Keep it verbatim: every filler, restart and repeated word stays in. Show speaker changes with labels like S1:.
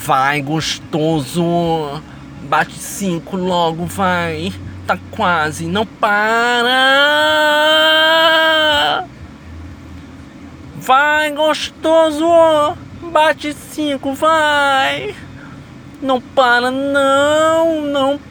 S1: Vai, gostoso. Bate cinco logo, vai. Tá quase, não para. Vai, gostoso. Bate cinco, vai. Não para, não, não